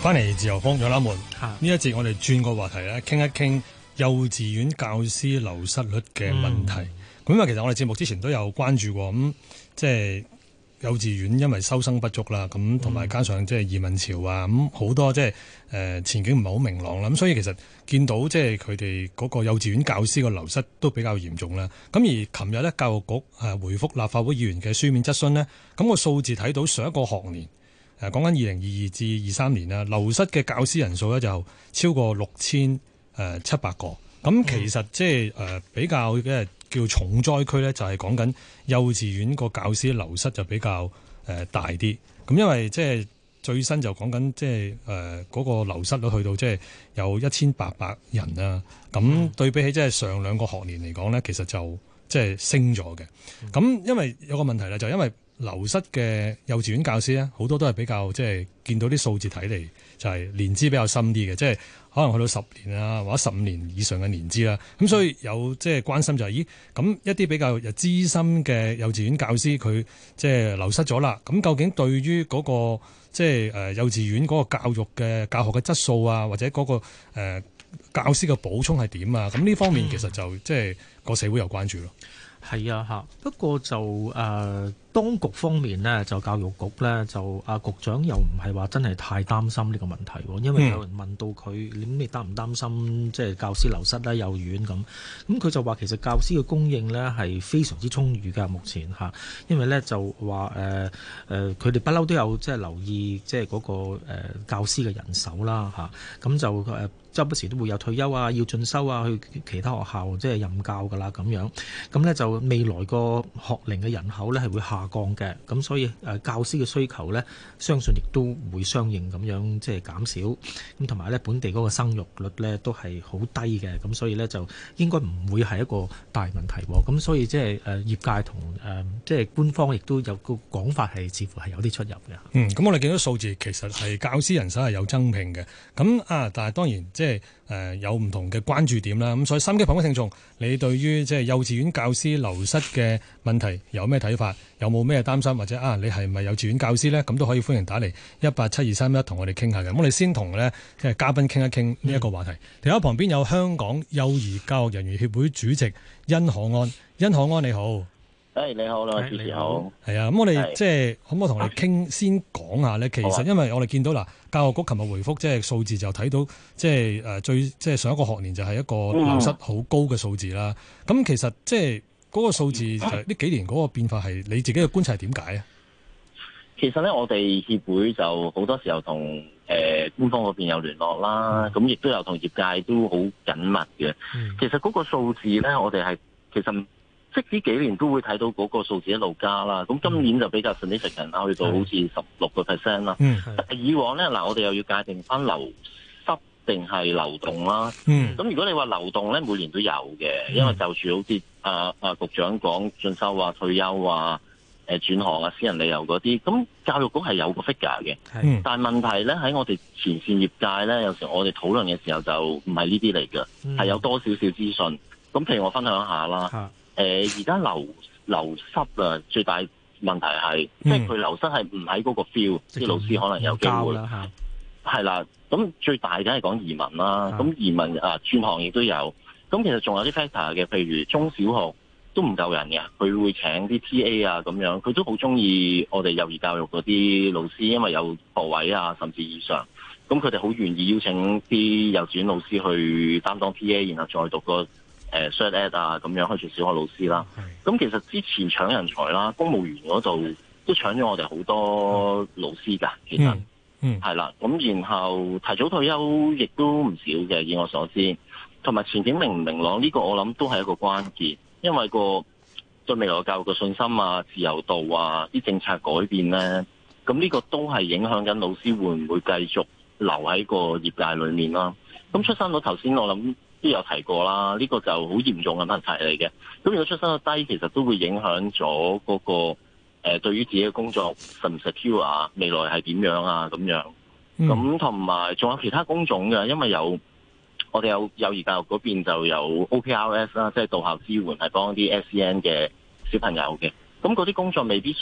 翻嚟自由風有啦門，呢一節我哋轉個話題咧，傾一傾幼稚園教師流失率嘅問題。咁因為其實我哋節目之前都有關注過，咁即係幼稚園因為收生不足啦，咁同埋加上即係移民潮啊，咁好多即係前景唔係好明朗啦，咁所以其實見到即係佢哋嗰個幼稚園教師個流失都比較嚴重啦。咁而琴日咧，教育局回覆立法會議員嘅書面質詢呢，咁個數字睇到上一個學年。講緊2022至23年啦，流失嘅教師人數咧就超過6700個。咁其實即係比較嘅叫重災區咧，就係講緊幼稚園個教師流失就比較大啲。咁因為即係最新就講緊即係嗰個流失率去到即係有1800人啦。咁對比起即係上兩個學年嚟講咧，其實就即係升咗嘅。咁因為有個問題咧，就因為流失嘅幼稚園教師咧，好多都係比較即係見到啲數字睇嚟就係年資比較深啲嘅，即係可能去到10年啊或者15年以上嘅年資啦。咁所以有即係關心就係，咦咁一啲比較資深嘅幼稚園教師佢即係流失咗啦。咁究竟對於嗰個即係幼稚園嗰個教育嘅教學嘅質素啊，或者嗰個教師嘅補充係點啊？咁呢方面其實就即係個社會有關注咯。 係啊，嚇！不過就當局方面呢，就教育局呢，就局長又唔係話真係太擔心呢個問題喎，因為有人問到佢，你擔唔擔心即係教師流失咧？幼兒園咁佢就話其實教師嘅供應呢係非常之充裕㗎，目前嚇，因為呢就話佢哋不嬲都有即係留意即係嗰個教師嘅人手啦嚇，咁就周不時都會有退休啊，要進修啊，去其他學校即係任教㗎啦咁樣，咁呢就未來個學齡嘅人口呢係會下降嘅，咁所以教師嘅需求呢，相信亦都會相應咁樣即係減少，咁同埋呢本地嗰個生育率呢都係好低嘅，咁所以呢就應該唔會係一個大問題喎，咁所以即係業界同即係官方亦都有個講法係似乎係有啲出入嘅。 咁我哋見到數字其實係教師人手係有增聘嘅，咁但係當然即係有唔同嘅關注點啦。咁所以心機旁邊聽眾，你對於即係幼稚園教師流失嘅問題有咩睇法？有冇咩擔心？或者你係咪幼稚園教師呢？咁都可以歡迎打嚟1872311同我哋傾下嘅。我哋先同咧即係嘉賓傾一傾呢一個話題。電話旁邊有香港幼兒教育人員協會主席殷可安，殷可安你好。 你好，兩位主持好。 係啊，咁我哋即係可唔可以同我哋傾先講下咧？其實因為我哋見到教育局琴日回覆即係數字就睇到即係即係上一個學年就係一個流失好高嘅數字啦。咁其實即係嗰個數字呢幾年嗰個變化係你自己嘅觀察係點解啊？ 其實咧，我哋協會就好多時候同官方嗰邊有聯絡啦，咁亦都有同業界都好緊密嘅。其實嗰個數字咧，我哋係其實。即呢幾年都會睇到嗰個數字一路加啦，咁今年就比較 significant 啦，去到好似16%啦。以往咧我哋又要界定翻流失定係流動啦。咁如果你話流動咧，每年都有嘅，因為就住好似局長講進修啊、退休啊、轉行啊、私人理由嗰啲，咁教育局係有個 figure 嘅。但係問題咧喺我哋前線業界咧，有時我哋討論嘅時候就唔係呢啲嚟嘅，係有多少少資訊。咁譬如我分享下啦。而家流失啊，最大問題係，即係佢流失係唔喺嗰個 feel，啲老師可能有機會係啦。咁最大梗係講移民啦，咁移民轉行亦都有。咁其實仲有啲 factor 嘅，譬如中小學都唔夠人嘅，佢會請啲 TA 啊咁樣，佢都好中意我哋幼兒教育嗰啲老師，因為有學位啊，甚至以上。咁佢哋好願意邀請啲幼稚園老師去擔當 TA，然後再讀個Cert Ed 啊咁樣去做小學老師啦。咁其實之前搶人才啦，公務員嗰度都搶咗我哋好多老師㗎。其實係啦。咁然後提早退休亦都唔少嘅，以我所知。同埋前景明唔明朗呢個我諗都係一個關鍵，因為個對未來教育嘅信心啊、自由度啊、啲政策改變咧，咁呢個都係影響緊老師會唔會繼續留喺個業界裏面啦。咁出生率頭先我諗都有提過啦，呢個就好嚴重嘅問題嚟嘅。咁如果出生率低，其實都會影響咗嗰個對於自己嘅工作實唔 secure 啊，未來係點樣啊咁樣。咁同埋仲有其他工種嘅，因為我哋有幼兒教育嗰邊就有 OPRS 啦，即係到校支援係幫啲 SEN 嘅小朋友嘅。咁嗰啲工作未必需要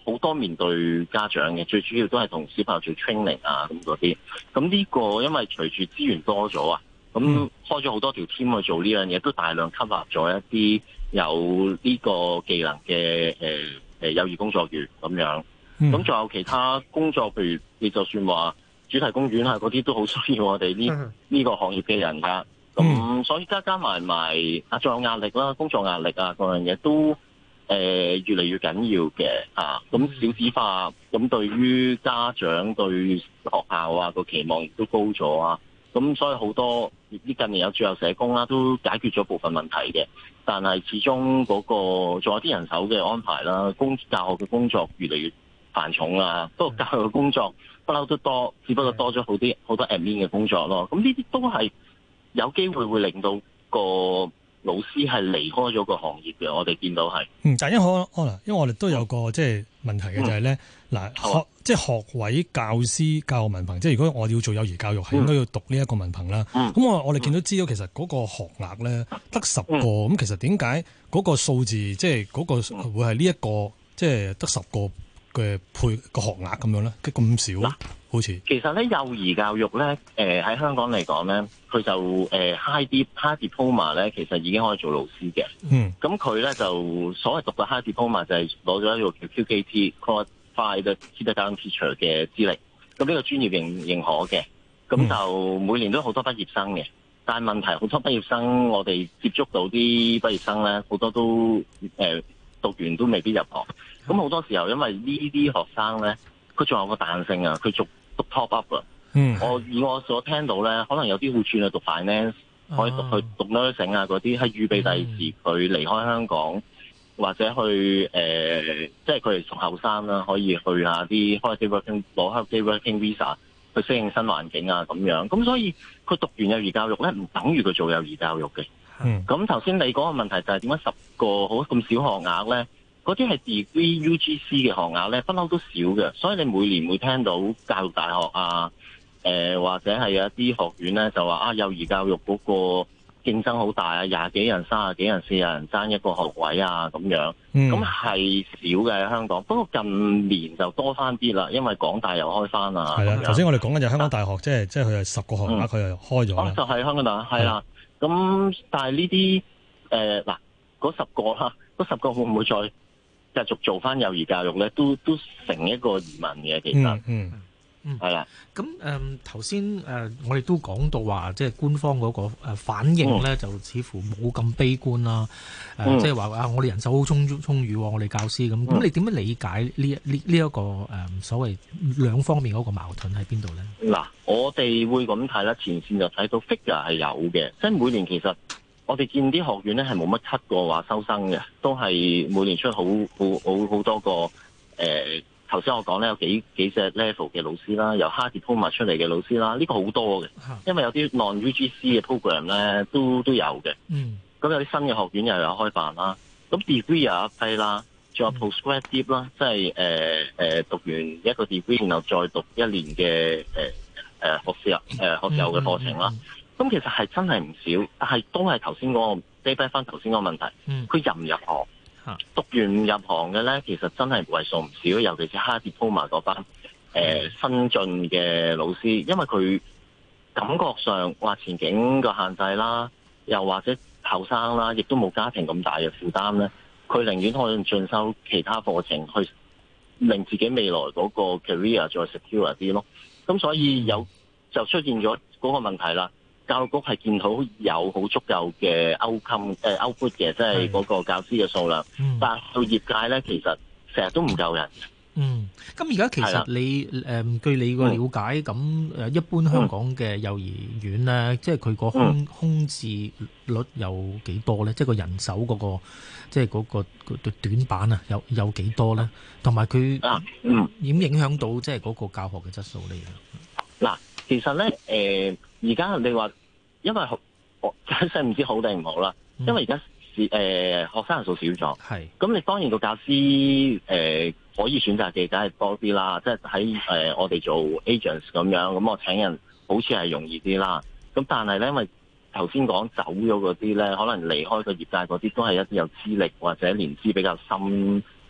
好多面對家長嘅，最主要都係同小朋友做 training 啊咁嗰啲。咁呢個因為隨住資源多咗啊，咁開咗好多條 team 去做呢樣嘢，都大量吸納咗一啲有呢個技能嘅幼兒工作員咁樣。咁仲有其他工作，譬如你就算話主題公園啊嗰啲，都好需要我哋呢個行業嘅人㗎。咁所以加埋仲有壓力啦，工作壓力啊嗰樣嘢都越嚟越緊要嘅啊。咁少子化，咁對於家長對學校啊個期望亦都高咗啊。咁所以好多呢近年有駐校社工啦，都解決咗部分問題嘅。但係始終嗰個仲有啲人手嘅安排啦，教學嘅工作越嚟越繁重啦。不過教學嘅工作不嬲都多，只不過多咗好多 admin 嘅工作咯。咁呢啲都係有機會令到個老師係離開咗個行業嘅，我哋見到係。 但因為我哋都有個即係問題嘅就係咧，即係學位教師教學文憑，即係如果我要做幼兒教育，係應該要讀呢一個文憑啦。咁我哋見到資料，其實嗰個學額咧得10個，咁其實點解嗰個數字即係嗰個會係呢一個即係得10個嘅配個學額咁樣咧？咁少？好似其實咧，幼兒教育咧，喺香港嚟講咧，佢就high diploma 咧，其實已經可以做老師嘅。咁佢咧就所謂讀嘅 high diploma 就係攞咗一個叫 QKT Qualified Kindergarten Teacher 嘅資歷。咁呢個專業認可嘅。咁就每年都好多畢業生嘅。但係問題好多畢業生，我哋接觸到啲畢業生咧，好多都讀完都未必入行。咁好多時候因為呢啲學生咧，佢仲有個彈性啊，佢讀 top up 啊。以我所聽到咧，可能有啲會轉去讀 finance，可以去讀 nursing 啊嗰啲，係預備第二時佢離開香港，或者去即係佢哋仲後生啦，可以去下啲 holiday working 攞 holiday working visa 去適應新環境啊咁樣。咁所以佢讀完幼兒教育咧，唔等於佢做幼兒教育嘅。咁頭先你講嘅問題就係點解10個好咁少學額咧？嗰啲係 degree UGC 嘅學額咧，不嬲都少嘅，所以你每年會聽到教育大學啊，或者係有一啲學院咧就話幼兒教育嗰個競爭好大啊，20幾人、30幾人、40人爭一個學位啊咁樣，咁係少嘅喺香港。不過近年就多翻啲啦，因為港大又開翻啊。 係啦，頭先我哋講緊就香港大學，即係佢係10個學額，佢又開咗啦。 就係香港大學，係啦。咁但係呢啲嗰10個啦，嗰10個會唔會再繼續做翻幼兒教育咧，都成一個疑問嘅，其實，係啦。 咁頭先我哋都講到話，即係官方嗰個反應咧，就似乎冇咁悲觀啦。即係話我哋人手好充裕，我哋教師咁。咁你點樣理解呢一個所謂兩方面嗰個矛盾喺邊度咧？ 嗱，我哋會咁睇啦，前線就睇到 figure 係有嘅，即係每年其實。我哋見啲學院咧係冇乜cut過話收生嘅，都係每年出好多個頭先我講咧有幾隻 level 嘅老師啦，由 high diploma 出嚟嘅老師啦，呢個好多嘅，因為有啲 non-UGC 嘅 program 咧都有嘅。咁有啲新嘅學院又有開辦啦，咁 degree 有一批啦，仲有 postgraduate 啦，即係讀完一個 degree 然後再讀1年嘅學士後嘅課程啦。咁其實係真係唔少，但係都係頭先嗰個 stay back 翻頭先嗰個問題，佢入唔入行？讀完唔入行嘅咧，其實真係為數唔少，尤其是 high diploma 嗰班新進嘅老師，因為佢感覺上話前景個限制啦，又或者後生啦，亦都冇家庭咁大嘅負擔咧，佢寧願可以進修其他課程，去令自己未來嗰個 career 再 secure 啲咯。咁所以就出現咗嗰個問題啦。教育局係見到有好足夠嘅output 嘅，即係嗰個教師嘅數量，但係到業界咧，其實成日都唔夠人。 咁而家其實你據你個了解，咁一般香港嘅幼兒園咧，即係佢個空置率有幾多咧？即係個人手嗰個，即係嗰個短板啊，有幾多咧？同埋佢點影響到即係嗰個教學嘅質素咧？ 嗱，其實咧，而家你話，因為真係唔知好定唔好啦。因為而家學生人數少咗，咁你當然個教師可以選擇嘅梗係多啲啦。即係喺我哋做 agents 咁樣，咁我請人好似係容易啲啦。咁但係咧，因為頭先講走咗嗰啲咧，可能離開個業界嗰啲都係一啲有資歷或者年資比較深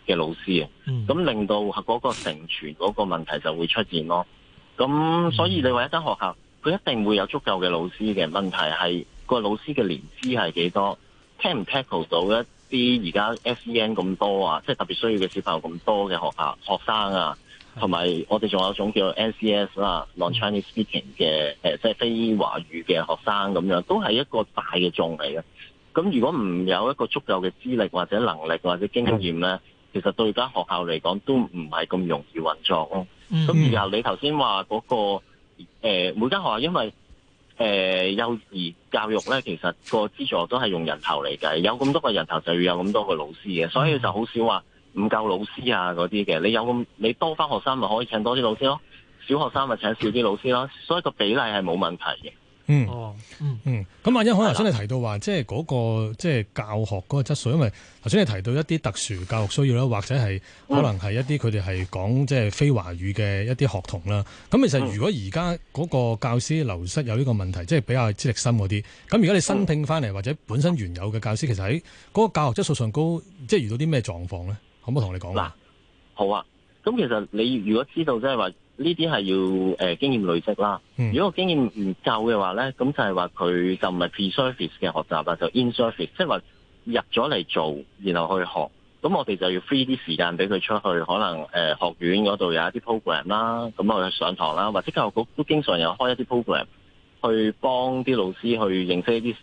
嘅老師啊，咁令到嗰個承傳嗰個問題就會出現咯。咁所以你話一間學校佢一定會有足夠嘅老師嘅，問題係個老師嘅年資係幾多，聽唔 tackle 到一啲而家 SEN 咁多啊，即係特別需要嘅小朋友咁多嘅學生啊，同埋我哋仲有一種叫 NCS 啦，Non-Chinese Speaking 嘅即係非華語嘅學生咁樣，都係一個大嘅眾嚟嘅。咁如果唔有一個足夠嘅資歷或者能力或者經驗咧，其實對間學校嚟講都唔係咁容易運作咯。咁然後你頭先話嗰個每間學校因為幼兒教育咧，其實個資助都係用人頭嚟計，有咁多個人頭就要有咁多個老師嘅，所以就好少話唔夠老師啊嗰啲嘅。你多翻學生咪可以請多啲老師咯，小學生咪請少啲老師咯，所以個比例係冇問題嘅。 咁阿欣可頭先你提到話，即係嗰個即係教學嗰個質素，因為頭先你提到一啲特殊教育需要啦，或者係可能係一啲佢哋係講即係非華語嘅一啲學童啦。咁其實如果而家嗰個教師流失有呢個問題，即係比較資歷深嗰啲，咁而家你新聘翻嚟或者本身原有嘅教師，其實喺嗰個教學質素上高，即係遇到啲咩狀況咧？可唔可以同你講？嗱， 好啊。咁其實你如果知道即係話，呢啲係要經驗累積啦。如果個經驗唔夠嘅話咧，咁就係話佢就唔係 pre-service 嘅學習啦，就 in-service，即係話入咗嚟做，然後去學。咁我哋就要 free 啲時間俾佢出去，可能學院嗰度有一啲 program 啦，咁我去上堂啦，或者教育局都經常有開一啲 program 去幫啲老師去認識一啲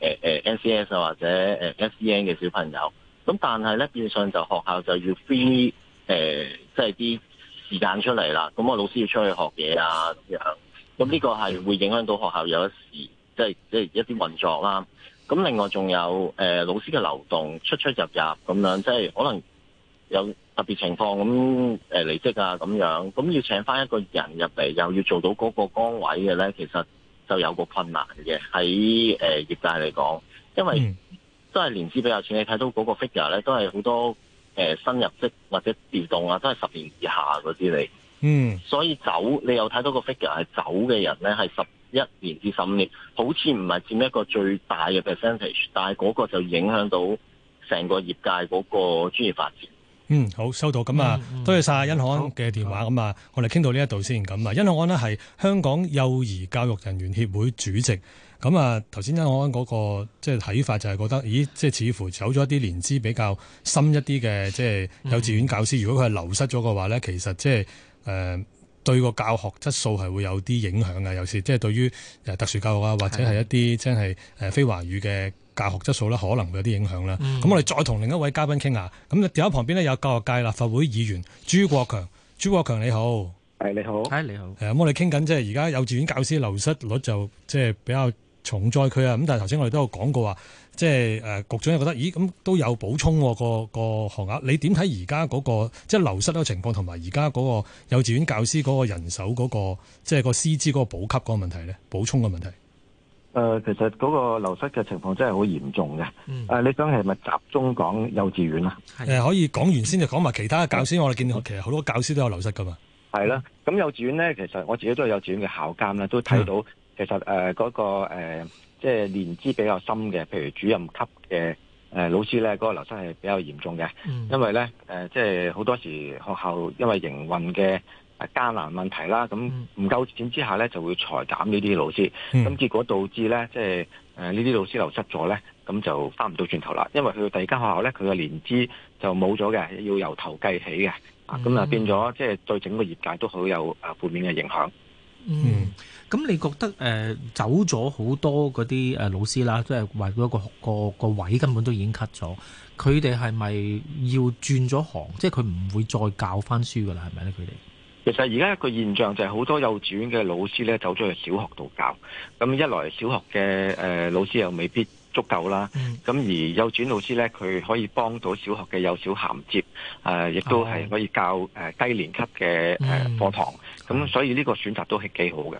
NCS 啊或者SEN 嘅小朋友。咁但係咧變相就學校就要 free 即係啲時間出嚟啦，咁我老師要出去學嘢啊咁樣，咁呢個係會影響到學校有一時即係一啲運作啦。咁另外仲有老師嘅流動出入咁樣，即係可能有特別情況咁離職啊咁樣，咁要請翻一個人入嚟，又要做到嗰個崗位嘅咧，其實就有個困難嘅喺業界嚟講，因為都係年資比較淺，你睇到嗰個 figure 咧都係好多。新入職或者調動啊，都係10年以下嗰啲嚟。所以你有睇到個 figure 係走嘅人咧，係11年至15年，好似唔係佔一個最大嘅 percentage， 但係嗰個就影響到成個業界嗰個專業發展。 好，收到。咁啊，多謝晒殷漢安嘅電話。咁啊，我哋傾到呢一度先。咁啊，殷漢安呢係香港幼兒教育人員協會主席。咁啊，頭先殷漢安嗰個即係睇法就係覺得，咦，即係似乎走咗一啲年資比較深一啲嘅即係幼稚園教師，如果佢係流失咗嘅話咧，其實即係對個教學質素係會有啲影響嘅。有時即係對於特殊教育啊，或者係一啲即係非華語嘅教學質素咧，可能會有啲影響啦。咁我哋再同另一位嘉賓傾下。咁電話旁邊呢，有教育界立法會議員朱國強。朱國強你好。 你好。 你好。 咁我哋傾緊即係而家幼稚園教師流失率就即係比較重災區啊！咁但係頭先我哋都有講過話，即係局長又覺得，咦咁都有補充個學額。你點睇而家嗰個即係流失嗰個情況，同埋而家嗰個幼稚園教師嗰個人手嗰個即係個師資嗰個補給嗰個問題咧？補充嘅問題。 其實嗰個流失嘅情況真係好嚴重嘅。你想係咪集中講幼稚園啊？ 可以講完先就講埋其他教師。我哋見到其實好多教師都有流失噶嘛。 係啦，咁幼稚園咧，其實我自己都係幼稚園嘅校監啦，都睇到。其實嗰個即係年資比較深嘅，譬如主任級嘅老師咧，嗰個流失係比較嚴重嘅。因為咧即係好多時學校因為營運嘅艱難問題啦，咁唔夠錢之下咧就會裁減呢啲老師，咁結果導致咧即係呢啲老師流失咗咧，咁就翻唔到轉頭啦。因為去到第二間學校咧，佢嘅年資就冇咗嘅，要由頭計起嘅，咁啊變咗即係對整個業界都好有負面嘅影響。 咁你覺得走咗好多嗰啲老師啦，即係話嗰個位根本都已經 cut 咗，佢哋係咪要轉咗行？即係佢唔會再教翻書噶啦，係咪咧？佢哋其實而家一個現象就係好多幼稚園嘅老師咧走咗去小學度教，咁一來小學嘅老師又未必足夠啦，咁而幼稚園老師咧佢可以幫到小學嘅幼小銜接，亦都係可以教低年級嘅課堂，咁所以呢個選擇都係幾好嘅。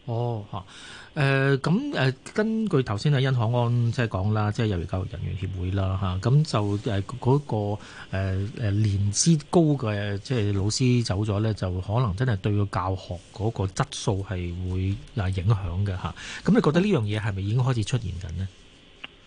根據頭先殷漢安即係講啦，即係幼兒教育人員協會啦咁就嗰個年資高嘅即係老師走咗咧，就可能真係對個教學嗰個質素係會影響嘅咁你覺得呢樣嘢係咪已經開始出現緊呢？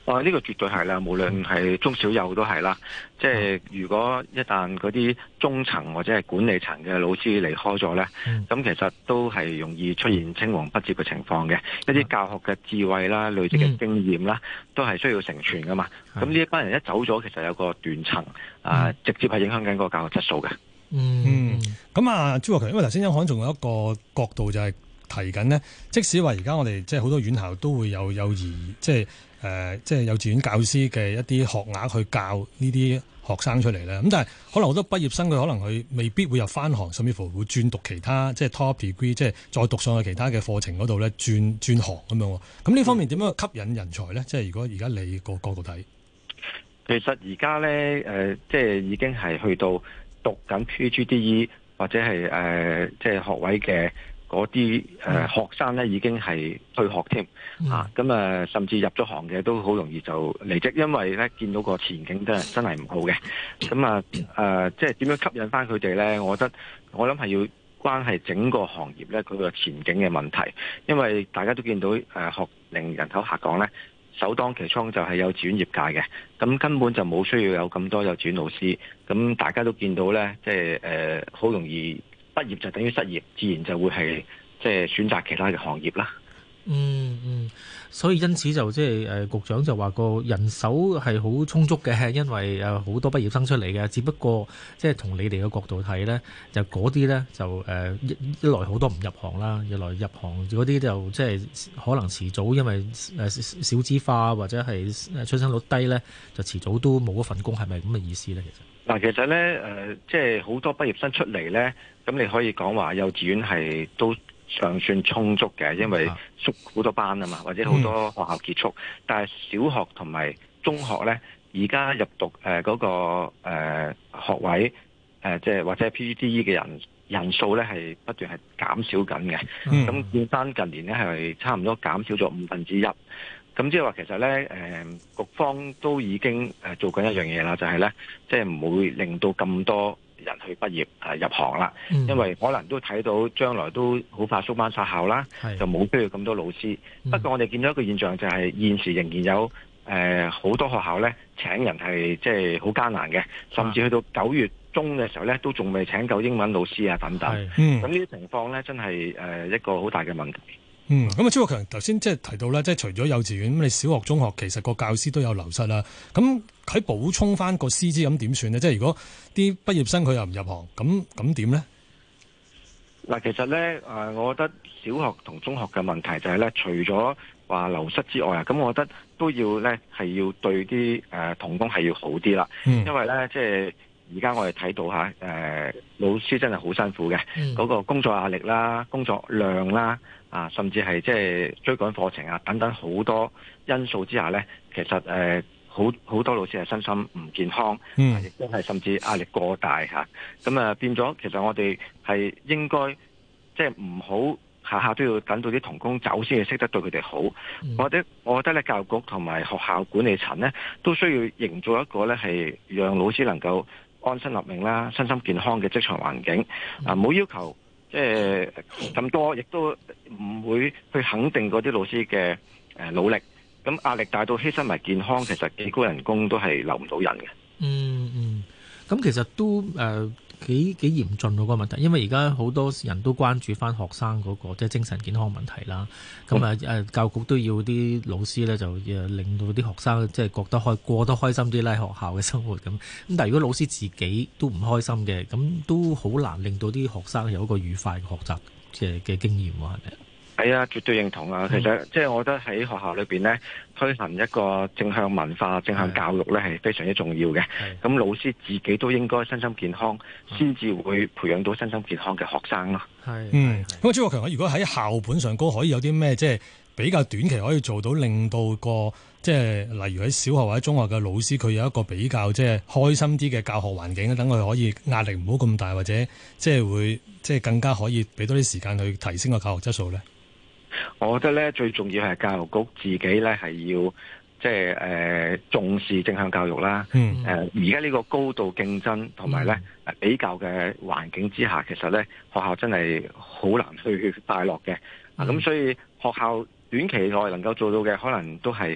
呢個絕對係啦，無論係中小幼都係啦。即係如果一旦嗰啲中層或者係管理層嘅老師離開咗呢，咁其實都係容易出現青黃不接嘅情況嘅。一啲教學嘅智慧啦、累積嘅經驗啦，都係需要承傳噶嘛。咁呢一班人一走咗，其實有個斷層直接係影響緊嗰個教學質素嘅。 咁啊，朱國強，因為頭先央行仲有一個角度就係提緊呢，即使話而家我哋即係好多院校都會有幼兒即係幼稚園教師嘅一啲學額去教呢啲學生出嚟咧，咁但係可能好多畢業生佢可能佢未必會入翻行，甚至乎會轉讀其他即係 top degree，即係再讀上去其他嘅課程嗰度咧，轉行咁樣。咁呢方面點樣吸引人才咧？即係如果而家你個角度睇， 其實而家咧即係已經係去到讀緊 PGDE 或者係即係學位嘅嗰啲學生咧，已經係退學添咁甚至入咗行嘅都好容易就離職，因為咧見到個前景真係唔好嘅。咁即係點樣吸引翻佢哋咧？我諗係要關係整個行業咧佢個前景嘅問題，因為大家都見到學齡人口下降咧，首當其衝就係幼稚園業界嘅，咁根本就冇需要有咁多幼稚園老師。咁大家都見到咧，即係好容易畢業就等於失業，自然就會係即係選擇其他嘅行業啦。 所以因此就即係局長就話個人手係好充足嘅，因為有好多畢業生出嚟嘅，只不過即係從你哋嘅角度睇咧，就嗰啲咧就一來好多唔入行啦，二來入行嗰啲就即係可能遲早因為少子化或者係出生率低咧，就遲早都冇一份工，係咪咁嘅意思咧？ 其實咧即係好多畢業生出嚟咧，咁你可以講話幼稚園係都尚算充足嘅，因為縮好多班啊嘛，或者好多學校結束。但係小學同埋中學咧，而家入讀嗰個學位即係或者 PGDE 嘅人數咧係不斷係減少緊嘅。咁見翻近年咧係差唔多減少咗1/5。咁即係話其實咧局方都已經做緊一樣嘢啦，就係咧即係唔會令到咁多人去畢業入行啦，因為可能都睇到將來都好快縮班殺校啦，就冇需要咁多老師。不過我哋見到一個現象就係現時仍然有好多學校咧請人係即係好艱難嘅，甚至去到9月中嘅時候咧都仲未請夠英文老師啊等等。咁呢啲情況咧真係一個好大嘅問題。 咁朱國強頭先即係提到咧，即係除咗幼稚園，咁你小學、中學其實個教師都有流失啦。咁喺補充翻個師資咁點算呢？即係如果啲畢業生佢又唔入行，咁點呢？ 其實咧我覺得小學同中學嘅問題就係咧，除咗話流失之外咁我覺得都要咧係要對啲同工係要好啲啦。因為咧即係而家我哋睇到老師真係好辛苦嘅，嗰個工作壓力啦、工作量啦。甚至係即係追趕課程等等好多因素之下呢，其實好多老師係身心唔健康，亦都係甚至壓力過大咁變咗其實我哋係應該即係唔好下下都要等到啲同工走先至識得對佢哋好。我覺得咧教育局同埋學校管理層呢，都需要營造一個呢係讓老師能夠安身立命啦、身心健康嘅職場環境。唔好要求即係咁多，亦都唔會去肯定嗰啲老師嘅努力。咁壓力大到犧牲埋健康，其實幾高人工都係留唔到人嘅。 咁其實都幾嚴峻嗰個問題，因為而家好多人都關注翻學生嗰個即係精神健康問題啦。咁教育局都要啲老師咧，就令到啲學生即係覺得過得開心啲啦，喺學校嘅生活咁。但係如果老師自己都唔開心嘅，咁都好難令到啲學生有一個愉快嘅學習嘅經驗喎，係咪？ 係啊，絕對認同啊！其實即係我覺得喺學校裏邊呢，推行一個正向文化、正向教育呢係非常之重要嘅。咁老師自己都應該身心健康，先至會培養到身心健康嘅學生咯。 咁朱國強，如果喺校本上高可以有啲咩即係比較短期可以做到，令到個即係例如喺小學或者中學嘅老師，佢有一個比較即係開心啲嘅教學環境，等佢可以壓力唔好咁大，或者即係會即係更加可以俾多啲時間去提升個教學質素呢？ 我覺得咧最重要係教育局自己咧係要即係重視正向教育啦。而家呢個高度競爭同埋咧比較嘅環境之下，其實咧學校真係好難去快樂嘅。咁所以學校短期內能夠做到嘅，可能都係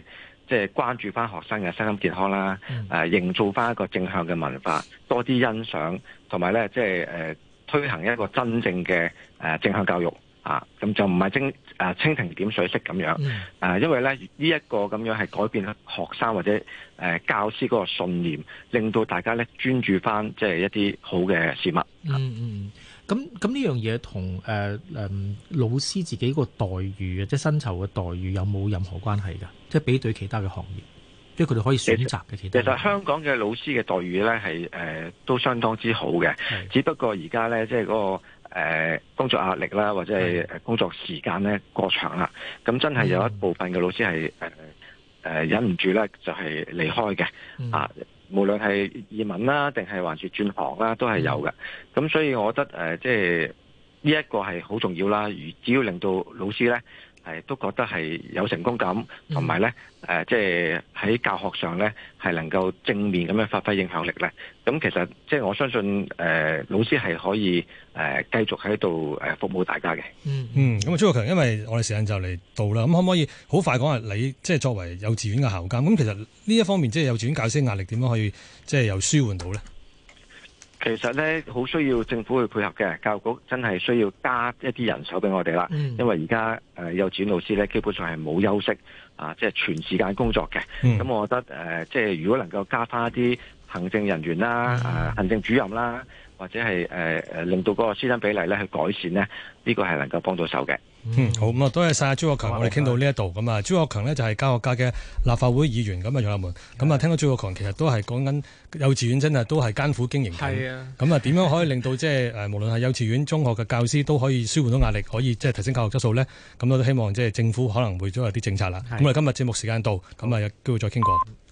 即係關注翻學生嘅身心健康啦，營造翻一個正向嘅文化，多啲欣賞，同埋咧即係推行一個真正嘅正向教育啊，咁就唔係蜻蜓點水式咁樣，因為咧呢一個咁樣係改變學生或者教師嗰個信念，令到大家咧專注翻即係一啲好嘅事物。 咁呢樣嘢同老師自己個待遇即係薪酬嘅待遇有冇任何關係㗎？即係比對其他嘅行業，即係佢哋可以選擇嘅其他。 其實香港嘅老師嘅待遇咧係都相當之好嘅，只不過而家咧即係嗰個工作壓力啦，或者係工作時間咧過長啦，咁真係有一部分嘅老師係忍唔住咧就係離開嘅啊。無論係移民啦，定係還是轉行啦，都係有嘅。咁所以我覺得即係呢一個係好重要啦。只要令到老師咧都覺得係有成功感，同埋咧即係喺教學上咧係能夠正面咁樣發揮影響力咧。咁其實即係我相信老師係可以繼續喺度服務大家嘅。 咁朱國強，因為我哋時間就嚟到啦，咁可唔可以好快講下你即係作為幼稚園嘅校監，咁其實呢一方面即係幼稚園教師壓力點樣可以即係又舒緩到咧？ 其實咧好需要政府去配合嘅，教育局真係需要加一啲人手俾我哋啦。因為而家幼稚園老師咧基本上係冇休息啊，即係全時間工作嘅。咁我覺得即係如果能夠加翻一啲行政人員啦、行政主任啦，或者係令到嗰個師生比例咧去改善咧，呢個係能夠幫到手嘅。 好，咁啊，多謝晒朱國強，我哋傾到呢一度。咁啊，朱國強呢就係教育界嘅立法會議員。咁啊，楊立門，咁啊，聽到朱國強其實都係講緊幼稚園真係都係艱苦經營緊。咁啊，點樣可以令到即係無論係幼稚園、中學嘅教師都可以舒緩到壓力，可以即係提升教育質素呢？咁我都希望即係政府可能會都有啲政策啦。咁我哋今日節目時間到，咁啊有機會再傾過。